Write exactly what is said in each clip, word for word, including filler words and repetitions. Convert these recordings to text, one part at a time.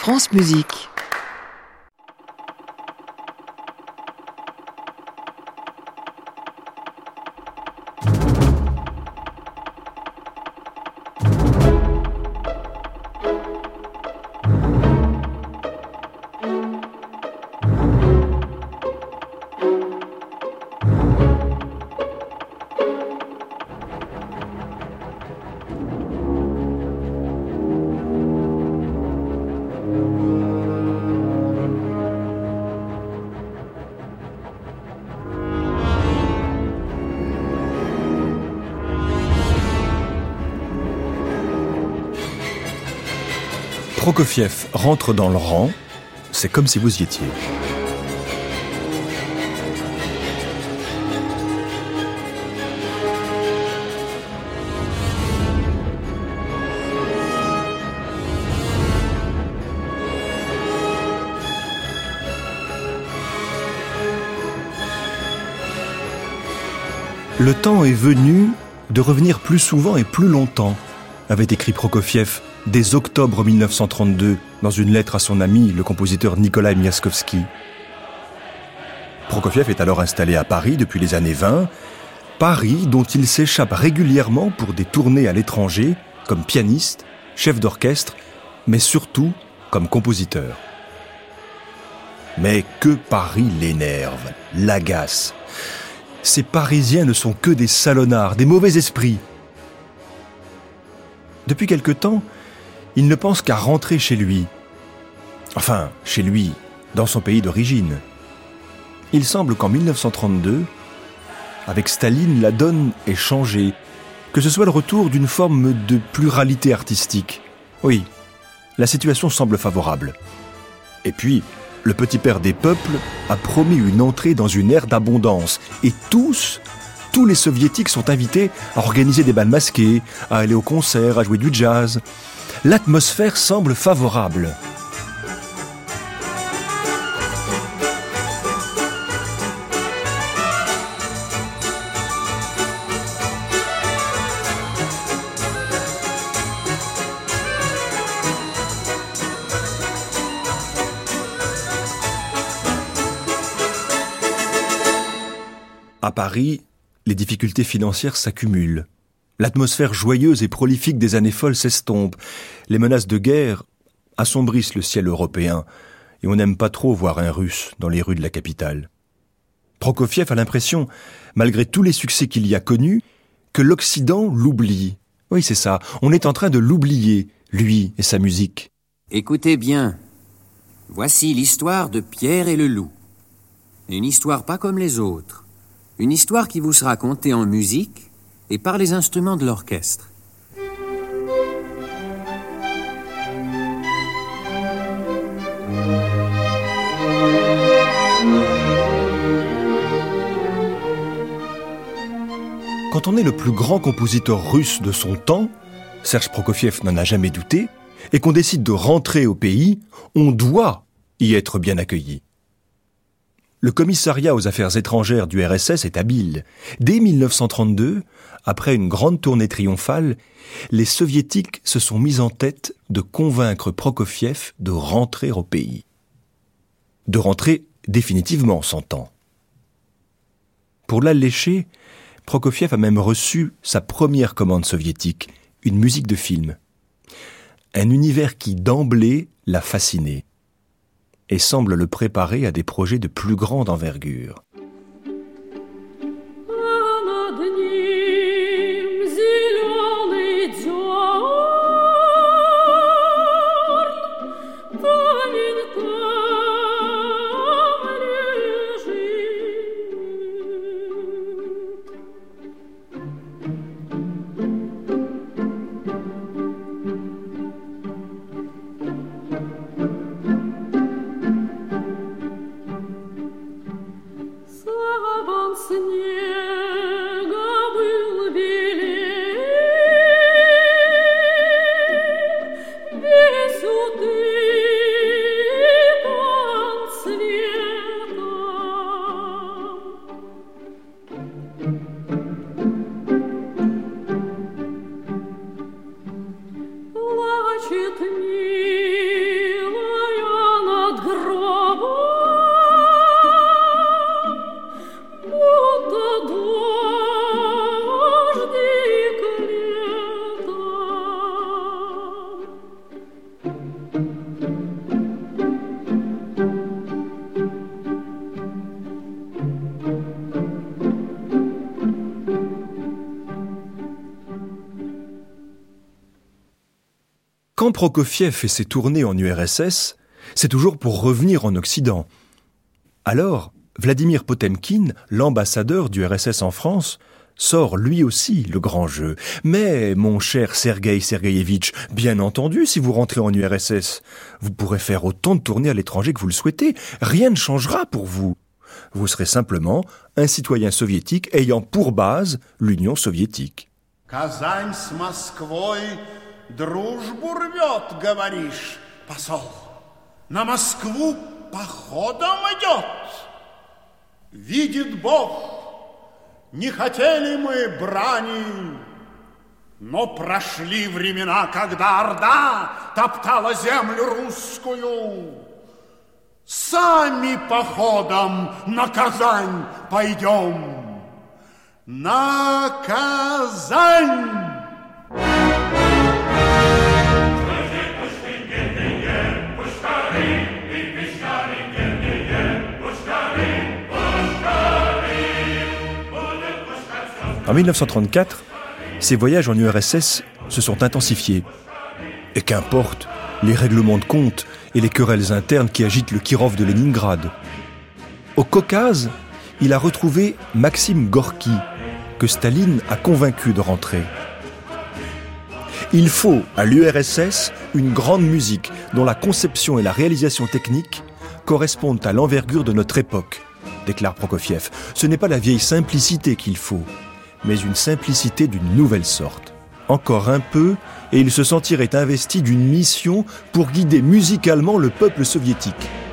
France Musique. Prokofiev rentre dans le rang, c'est comme si vous y étiez. Le temps est venu de revenir plus souvent et plus longtemps, avait écrit Prokofiev dès octobre mille neuf cent trente-deux dans une lettre à son ami, le compositeur Nikolai Miaskovsky. Prokofiev est alors installé à Paris depuis les années vingt, Paris dont il s'échappe régulièrement pour des tournées à l'étranger, comme pianiste, chef d'orchestre, mais surtout comme compositeur. Mais que Paris l'énerve, l'agace. Ces Parisiens ne sont que des salonnards, des mauvais esprits. Depuis quelque temps, il ne pense qu'à rentrer chez lui. Enfin, chez lui, dans son pays d'origine. Il semble qu'en mille neuf cent trente-deux, avec Staline, la donne est changée, que ce soit le retour d'une forme de pluralité artistique. Oui, la situation semble favorable. Et puis, le petit père des peuples a promis une entrée dans une ère d'abondance. Et tous, tous les soviétiques sont invités à organiser des bals masqués, à aller au concert, à jouer du jazz. L'atmosphère semble favorable. À Paris, les difficultés financières s'accumulent. L'atmosphère joyeuse et prolifique des années folles s'estompe. Les menaces de guerre assombrissent le ciel européen et on n'aime pas trop voir un Russe dans les rues de la capitale. Prokofiev a l'impression, malgré tous les succès qu'il y a connus, que l'Occident l'oublie. Oui, c'est ça, on est en train de l'oublier, lui et sa musique. Écoutez bien, voici l'histoire de Pierre et le loup. Une histoire pas comme les autres. Une histoire qui vous sera contée en musique et par les instruments de l'orchestre. Quand on est le plus grand compositeur russe de son temps, Serge Prokofiev n'en a jamais douté, et qu'on décide de rentrer au pays, on doit y être bien accueilli. Le commissariat aux affaires étrangères du R S S est habile. Dès mille neuf cent trente-deux, après une grande tournée triomphale, les soviétiques se sont mis en tête de convaincre Prokofiev de rentrer au pays. De rentrer définitivement, s'entend. Pour l'allécher, Prokofiev a même reçu sa première commande soviétique, une musique de film. Un univers qui d'emblée l'a fasciné et semble le préparer à des projets de plus grande envergure. quand Prokofiev fait ses tournées en U R S S, c'est toujours pour revenir en Occident. Alors, Vladimir Potemkin, l'ambassadeur du R S S en France, sort lui aussi le grand jeu. Mais, mon cher Sergueï Sergueïevitch, bien entendu, si vous rentrez en U R S S, vous pourrez faire autant de tournées à l'étranger que vous le souhaitez. Rien ne changera pour vous. Vous serez simplement un citoyen soviétique ayant pour base l'Union soviétique. Казань с Москвой дружбу рвет, говоришь, посол. На Москву походом идет. Видит Бог, не хотели мы брани, но прошли времена, когда Орда топтала землю русскую. Сами походом на Казань пойдем. На Казань! En dix-neuf cent trente-quatre, ces voyages en U R S S se sont intensifiés. Et qu'importe les règlements de compte et les querelles internes qui agitent le Kirov de Leningrad. Au Caucase, il a retrouvé Maxime Gorky, que Staline a convaincu de rentrer. Il faut à l'U R S S une grande musique dont la conception et la réalisation technique correspondent à l'envergure de notre époque, déclare Prokofiev. Ce n'est pas la vieille simplicité qu'il faut, mais une simplicité d'une nouvelle sorte. Encore un peu, et il se sentirait investi d'une mission pour guider musicalement le peuple soviétique.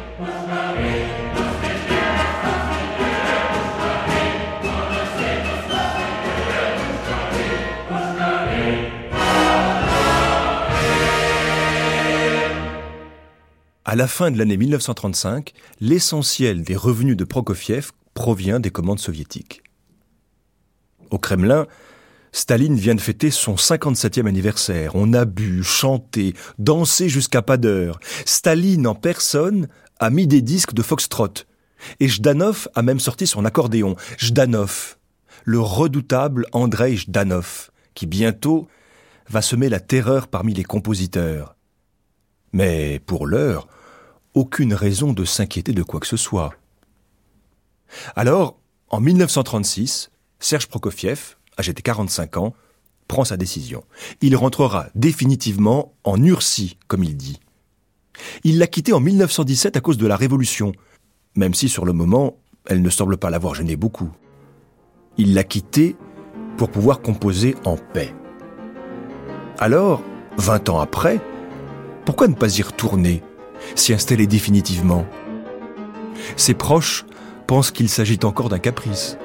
À la fin de l'année dix-neuf cent trente-cinq, l'essentiel des revenus de Prokofiev provient des commandes soviétiques. Au Kremlin, Staline vient de fêter son cinquante-septième anniversaire. On a bu, chanté, dansé jusqu'à pas d'heure. Staline en personne a mis des disques de foxtrot. Et Jdanov a même sorti son accordéon. Jdanov, le redoutable Andrei Jdanov, qui bientôt va semer la terreur parmi les compositeurs. Mais pour l'heure, aucune raison de s'inquiéter de quoi que ce soit. Alors, en dix-neuf cent trente-six, Serge Prokofiev, âgé de quarante-cinq ans, prend sa décision. Il rentrera définitivement en Ursie, comme il dit. Il l'a quitté en dix-neuf cent dix-sept à cause de la Révolution, même si sur le moment, elle ne semble pas l'avoir gêné beaucoup. Il l'a quitté pour pouvoir composer en paix. Alors, vingt ans après, pourquoi ne pas y retourner, s'y installer définitivement ? Ses proches pensent qu'il s'agit encore d'un caprice.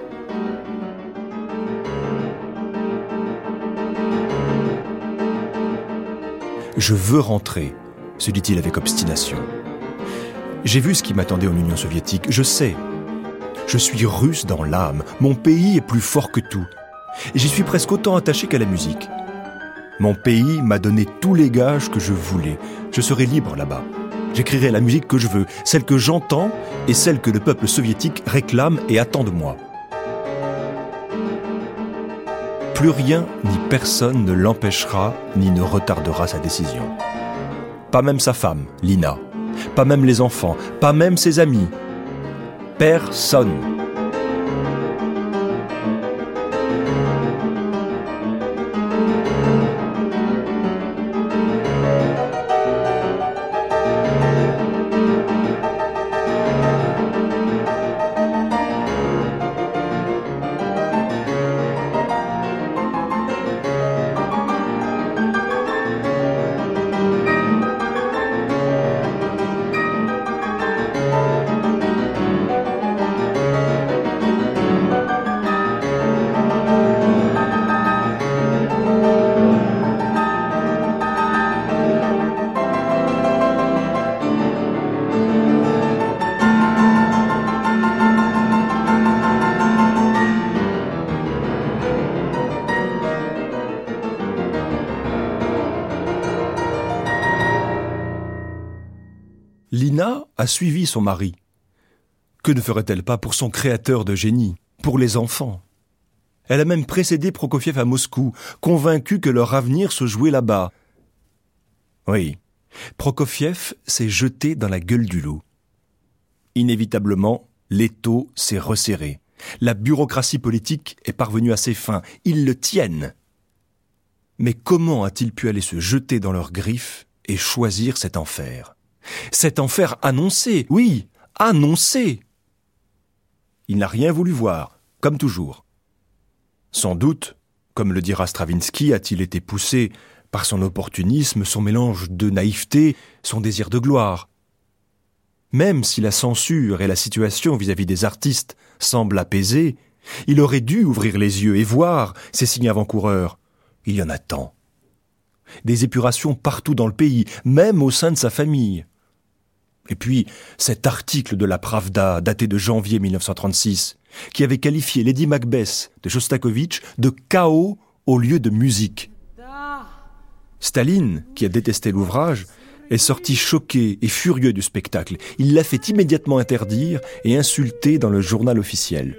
« Je veux rentrer », se dit-il avec obstination. « J'ai vu ce qui m'attendait en Union soviétique, je sais. Je suis russe dans l'âme, mon pays est plus fort que tout. Et j'y suis presque autant attaché qu'à la musique. Mon pays m'a donné tous les gages que je voulais. Je serai libre là-bas. J'écrirai la musique que je veux, celle que j'entends et celle que le peuple soviétique réclame et attend de moi. » Plus rien ni personne ne l'empêchera ni ne retardera sa décision. Pas même sa femme, Lina. Pas même les enfants. Pas même ses amis. Personne. Lina a suivi son mari. Que ne ferait-elle pas pour son créateur de génie, pour les enfants ? Elle a même précédé Prokofiev à Moscou, convaincue que leur avenir se jouait là-bas. Oui, Prokofiev s'est jeté dans la gueule du loup. Inévitablement, l'étau s'est resserré. La bureaucratie politique est parvenue à ses fins. Ils le tiennent. Mais comment a-t-il pu aller se jeter dans leurs griffes et choisir cet enfer ? Cet enfer annoncé, oui, annoncé. Il n'a rien voulu voir, comme toujours. Sans doute, comme le dira Stravinsky, a-t-il été poussé par son opportunisme, son mélange de naïveté, son désir de gloire. Même si la censure et la situation vis-à-vis des artistes semblent apaisées, il aurait dû ouvrir les yeux et voir ces signes avant-coureurs. Il y en a tant. Des épurations partout dans le pays, même au sein de sa famille. Et puis, cet article de la Pravda, daté de janvier mille neuf cent trente-six, qui avait qualifié Lady Macbeth de Shostakovich de chaos au lieu de musique. Staline, qui a détesté l'ouvrage, est sorti choqué et furieux du spectacle. Il l'a fait immédiatement interdire et insulter dans le journal officiel.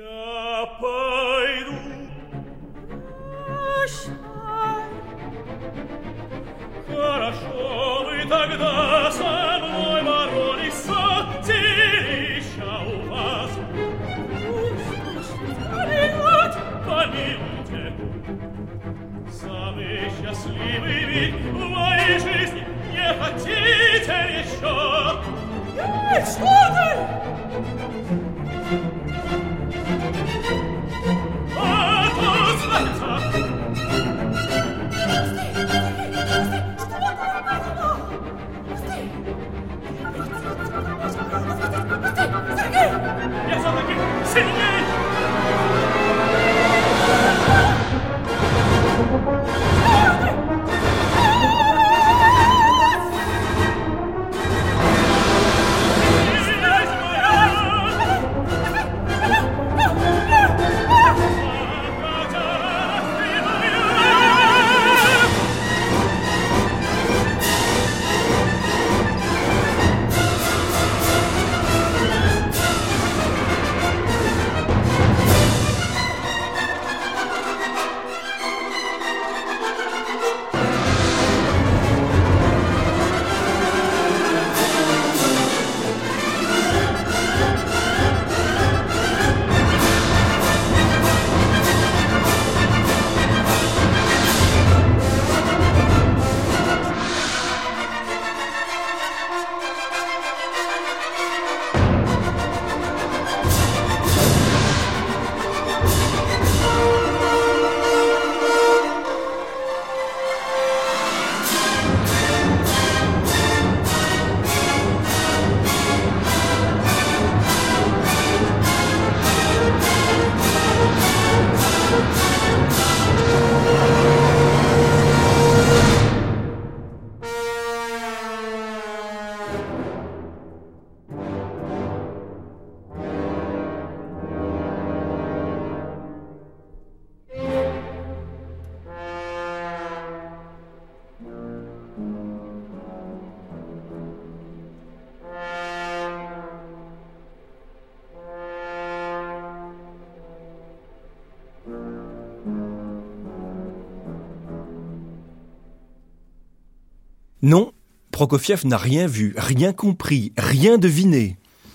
Non, Prokofiev n'a rien vu, rien compris, rien deviné.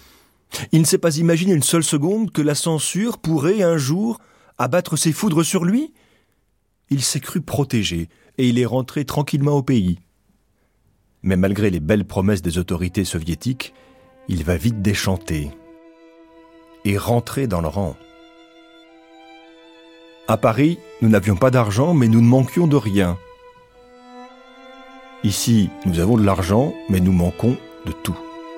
Il ne s'est pas imaginé une seule seconde que la censure pourrait un jour abattre ses foudres sur lui. Il s'est cru protégé et il est rentré tranquillement au pays. Mais malgré les belles promesses des autorités soviétiques, il va vite déchanter et rentrer dans le rang. À Paris, nous n'avions pas d'argent, mais nous ne manquions de rien. Ici, nous avons de l'argent, mais nous manquons de tout.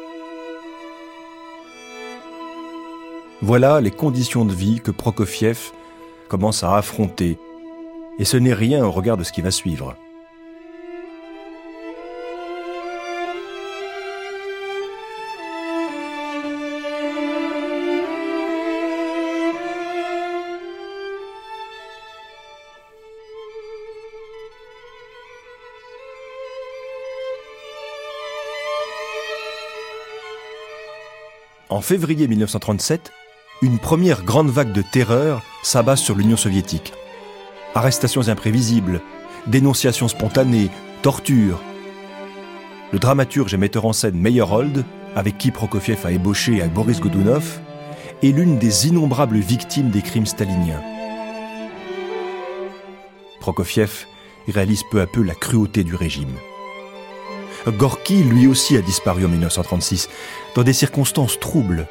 Voilà les conditions de vie que Prokofiev commence à affronter. Et ce n'est rien au regard de ce qui va suivre. En février mille neuf cent trente-sept, une première grande vague de terreur s'abat sur l'Union soviétique. Arrestations imprévisibles, dénonciations spontanées, tortures. le dramaturge et metteur en scène Meyerhold, avec qui Prokofiev a ébauché avec Boris Godunov, est l'une des innombrables victimes des crimes staliniens. Prokofiev réalise peu à peu la cruauté du régime. Gorki, lui aussi, a disparu en dix-neuf cent trente-six, dans des circonstances troubles.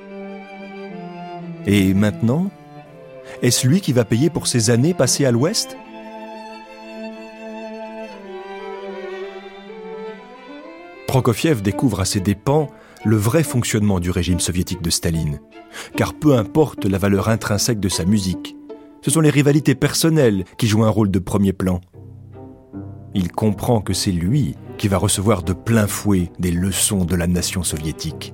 Et maintenant, est-ce lui qui va payer pour ces années passées à l'Ouest ? Prokofiev découvre à ses dépens le vrai fonctionnement du régime soviétique de Staline. Car peu importe la valeur intrinsèque de sa musique, ce sont les rivalités personnelles qui jouent un rôle de premier plan. Il comprend que c'est lui qui va recevoir de plein fouet des leçons de la nation soviétique.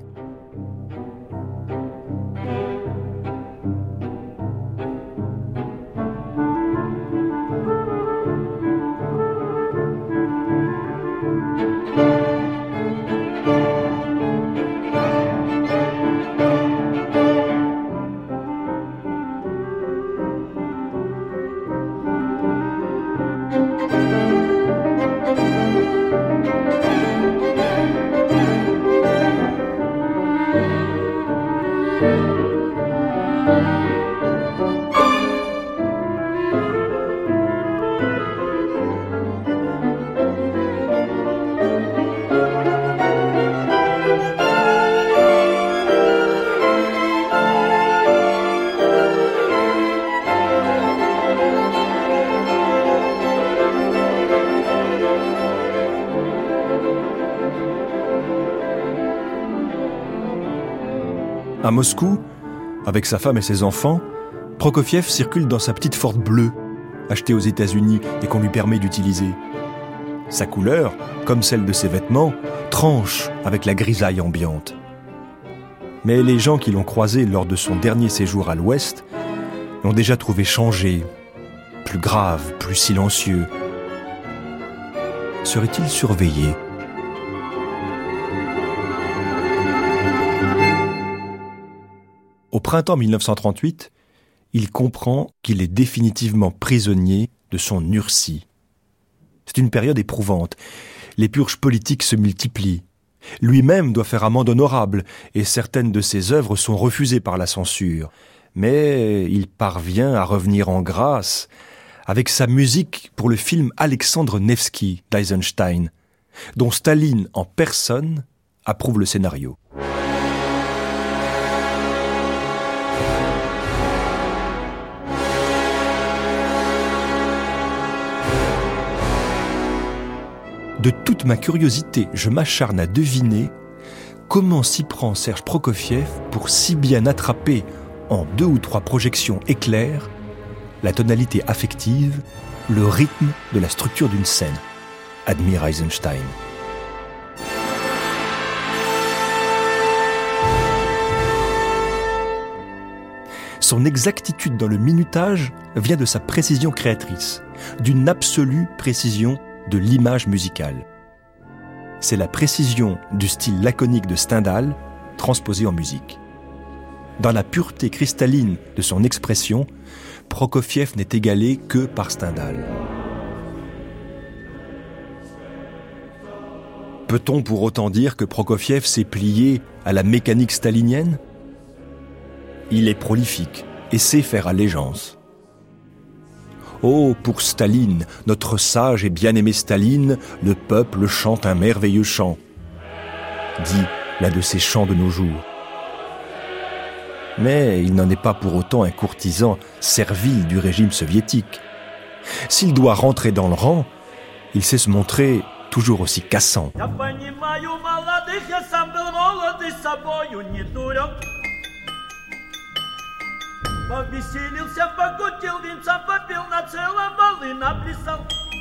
À Moscou, avec sa femme et ses enfants, Prokofiev circule dans sa petite Ford bleue, achetée aux États-Unis et qu'on lui permet d'utiliser. Sa couleur, comme celle de ses vêtements, tranche avec la grisaille ambiante. Mais les gens qui l'ont croisé lors de son dernier séjour à l'Ouest l'ont déjà trouvé changé, plus grave, plus silencieux. Serait-il surveillé ? Au printemps dix-neuf cent trente-huit, il comprend qu'il est définitivement prisonnier de son Nursie. C'est une période éprouvante. Les purges politiques se multiplient. Lui-même doit faire amende honorable et certaines de ses œuvres sont refusées par la censure. Mais il parvient à revenir en grâce avec sa musique pour le film Alexandre Nevsky d'Eisenstein, dont Staline en personne approuve le scénario. De toute ma curiosité, je m'acharne à deviner comment s'y prend Serge Prokofiev pour si bien attraper, en deux ou trois projections éclairs, la tonalité affective, le rythme de la structure d'une scène, admire Eisenstein. Son exactitude dans le minutage vient de sa précision créatrice, d'une absolue précision de l'image musicale. C'est la précision du style laconique de Stendhal transposée en musique. Dans la pureté cristalline de son expression, Prokofiev n'est égalé que par Stendhal. Peut-on pour autant dire que Prokofiev s'est plié à la mécanique stalinienne ? Il est prolifique et sait faire allégeance. Oh, pour Staline, notre sage et bien-aimé Staline, le peuple chante un merveilleux chant, dit l'un de ces chants de nos jours. Mais il n'en est pas pour autant un courtisan servile du régime soviétique. S'il doit rentrer dans le rang, il sait se montrer toujours aussi cassant. Повеселился, покутил, винца попил, на целом балы наплясал.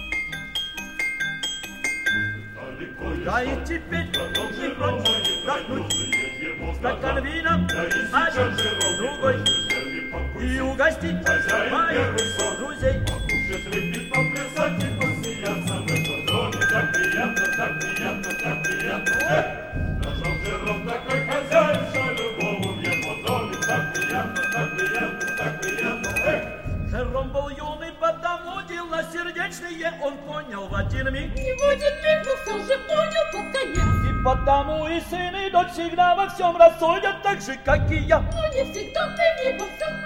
Да и теперь не прочь вдохнуть стакан вина, один, другой, и угостить моих друзей. Покушать, выпить, поплясать и посмеяться в этом доме. Так приятно, так приятно, так приятно. Нашел жиром такой хозяин, что любому в его доме. Так приятно, так приятно, так приятно. Жером был юный, потому дела сердечные он понял в один миг. И в один миг, но все же понял, потому и сыны и дочь всегда во всем рассудят так же, как и я. Но не всегда ты не во всем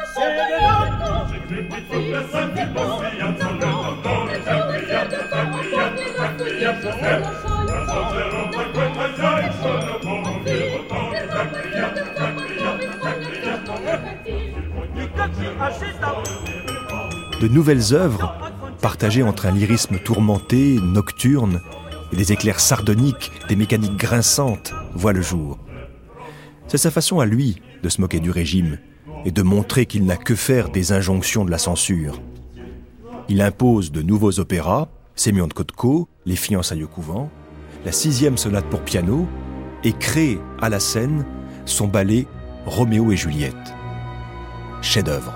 De nouvelles œuvres, partagées entre un lyrisme tourmenté, nocturne, et des éclairs sardoniques, des mécaniques grinçantes, voient le jour. C'est sa façon à lui de se moquer du régime et de montrer qu'il n'a que faire des injonctions de la censure. Il impose de nouveaux opéras, Sémion de Kotko, Les fiançailles au couvent, la sixième sonate pour piano, et crée à la scène son ballet Roméo et Juliette. Chef-d'œuvre.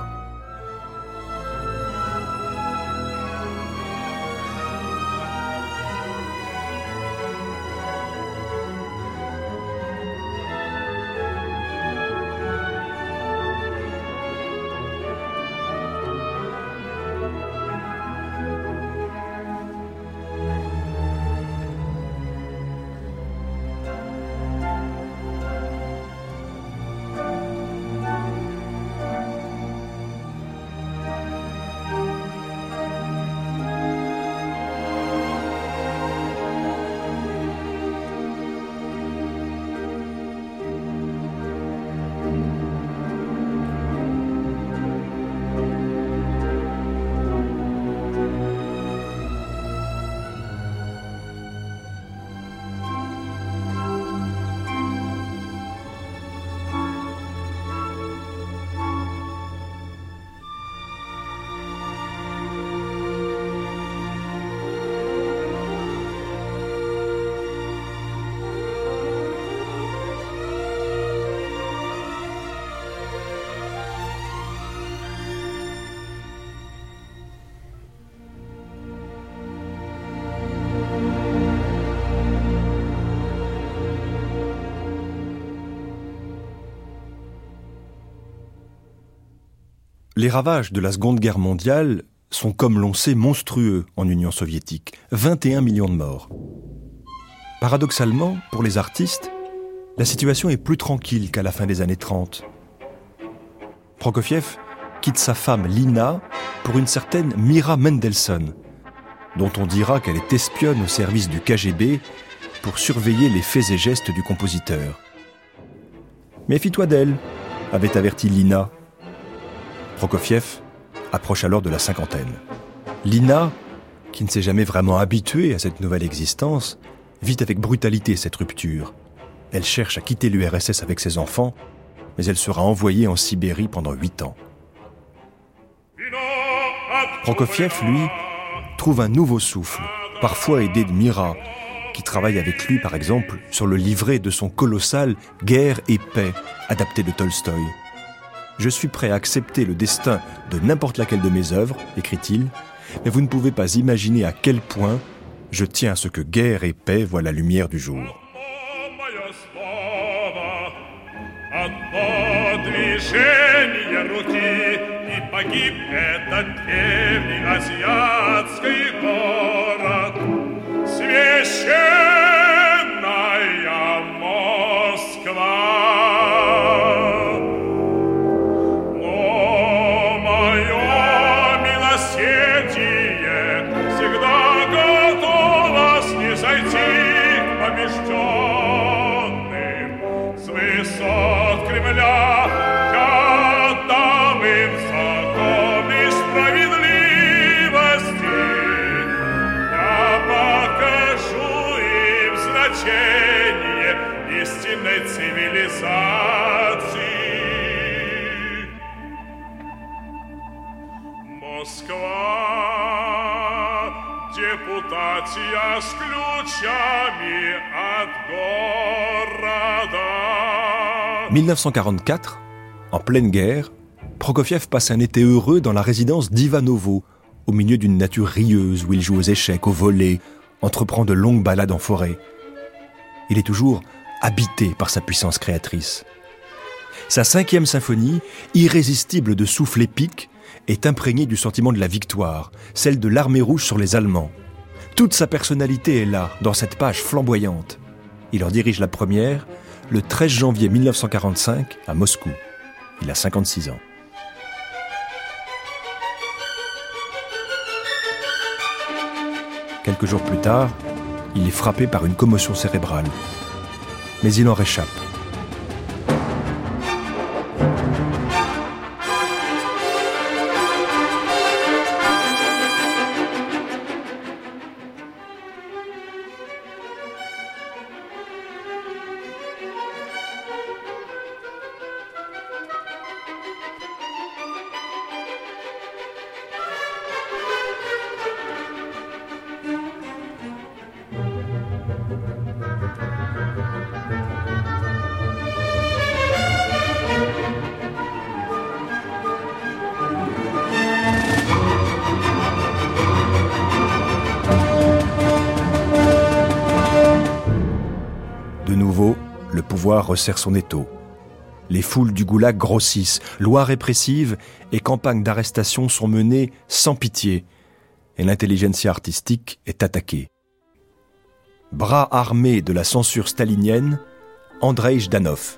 Les ravages de la Seconde Guerre mondiale sont, comme l'on sait, monstrueux en Union soviétique. vingt et un millions de morts. Paradoxalement, pour les artistes, la situation est plus tranquille qu'à la fin des années trente. Prokofiev quitte sa femme Lina pour une certaine Mira Mendelssohn, dont on dira qu'elle est espionne au service du K G B pour surveiller les faits et gestes du compositeur. « Méfie-toi d'elle », avait averti Lina. Prokofiev approche alors de la cinquantaine. Lina, qui ne s'est jamais vraiment habituée à cette nouvelle existence, vit avec brutalité cette rupture. Elle cherche à quitter l'U R S S avec ses enfants, mais elle sera envoyée en Sibérie pendant huit ans. Prokofiev, lui, trouve un nouveau souffle, parfois aidé de Mira, qui travaille avec lui, par exemple, sur le livret de son colossal « Guerre et paix », adapté de Tolstoï. « Je suis prêt à accepter le destin de n'importe laquelle de mes œuvres, écrit-il, mais vous ne pouvez pas imaginer à quel point je tiens à ce que guerre et paix voient la lumière du jour. » mille neuf cent quarante-quatre, en pleine guerre, Prokofiev passe un été heureux dans la résidence d'Ivanovo, au milieu d'une nature rieuse où il joue aux échecs, au volley, entreprend de longues balades en forêt. Il est toujours habité par sa puissance créatrice. Sa cinquième symphonie, irrésistible de souffle épique, est imprégnée du sentiment de la victoire, celle de l'armée rouge sur les Allemands. Toute sa personnalité est là, dans cette page flamboyante. Il en dirige la première le treize janvier mille neuf cent quarante-cinq à Moscou. Il a cinquante-six ans. Quelques jours plus tard, il est frappé par une commotion cérébrale. Mais il en réchappe. De nouveau, le pouvoir resserre son étau. Les foules du goulag grossissent, lois répressives et campagnes d'arrestation sont menées sans pitié, et l'intelligentsia artistique est attaquée. Bras armé de la censure stalinienne, Andreï Jdanov.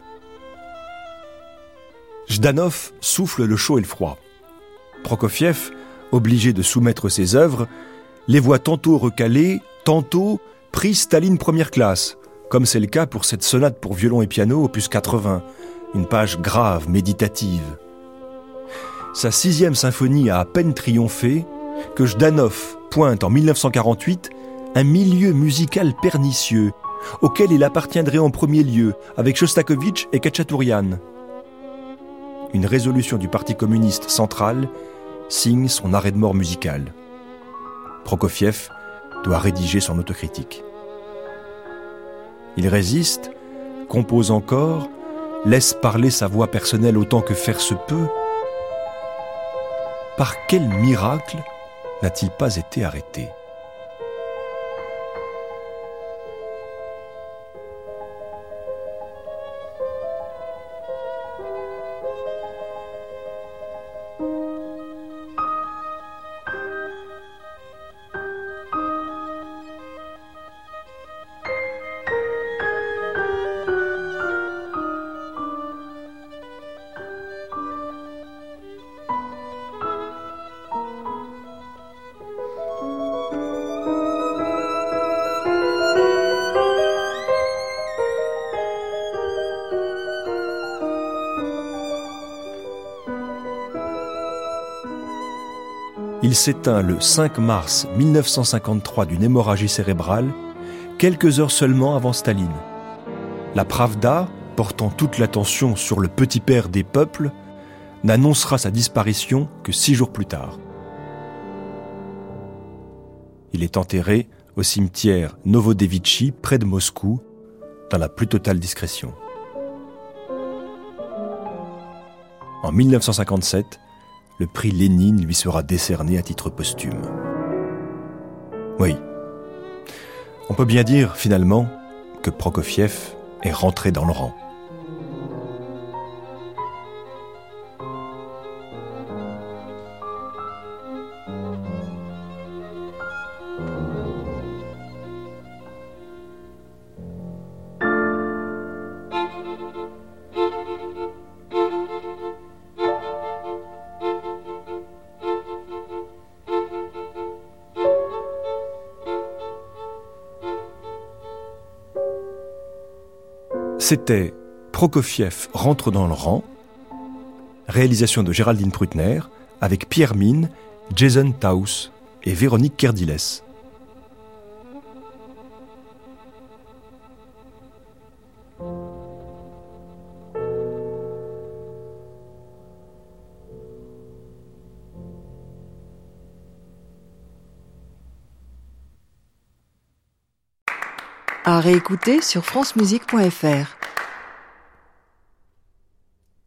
Jdanov souffle le chaud et le froid. Prokofiev, obligé de soumettre ses œuvres, les voit tantôt recalées, tantôt pris Staline première classe, comme c'est le cas pour cette sonate pour violon et piano opus quatre-vingts, une page grave, méditative. Sa sixième symphonie a à peine triomphé que Jdanov pointe en mille neuf cent quarante-huit un milieu musical pernicieux auquel il appartiendrait en premier lieu avec Shostakovich et Khatchatourian. Une résolution du Parti communiste central signe son arrêt de mort musical. Prokofiev doit rédiger son autocritique. Il résiste, compose encore, laisse parler sa voix personnelle autant que faire se peut. Par quel miracle n'a-t-il pas été arrêté ? Il s'éteint le cinq mars mille neuf cent cinquante-trois d'une hémorragie cérébrale, quelques heures seulement avant Staline. La Pravda, portant toute l'attention sur le petit père des peuples, n'annoncera sa disparition que six jours plus tard. Il est enterré au cimetière Novodevitchi, près de Moscou, dans la plus totale discrétion. En mille neuf cent cinquante-sept, le prix Lénine lui sera décerné à titre posthume. Oui, on peut bien dire finalement que Prokofiev est rentré dans le rang. C'était Prokofiev rentre dans le rang, réalisation de Géraldine Prutner, avec Pierre Mine, Jason Taus et Véronique Kerdiles. À réécouter sur francemusique point f r.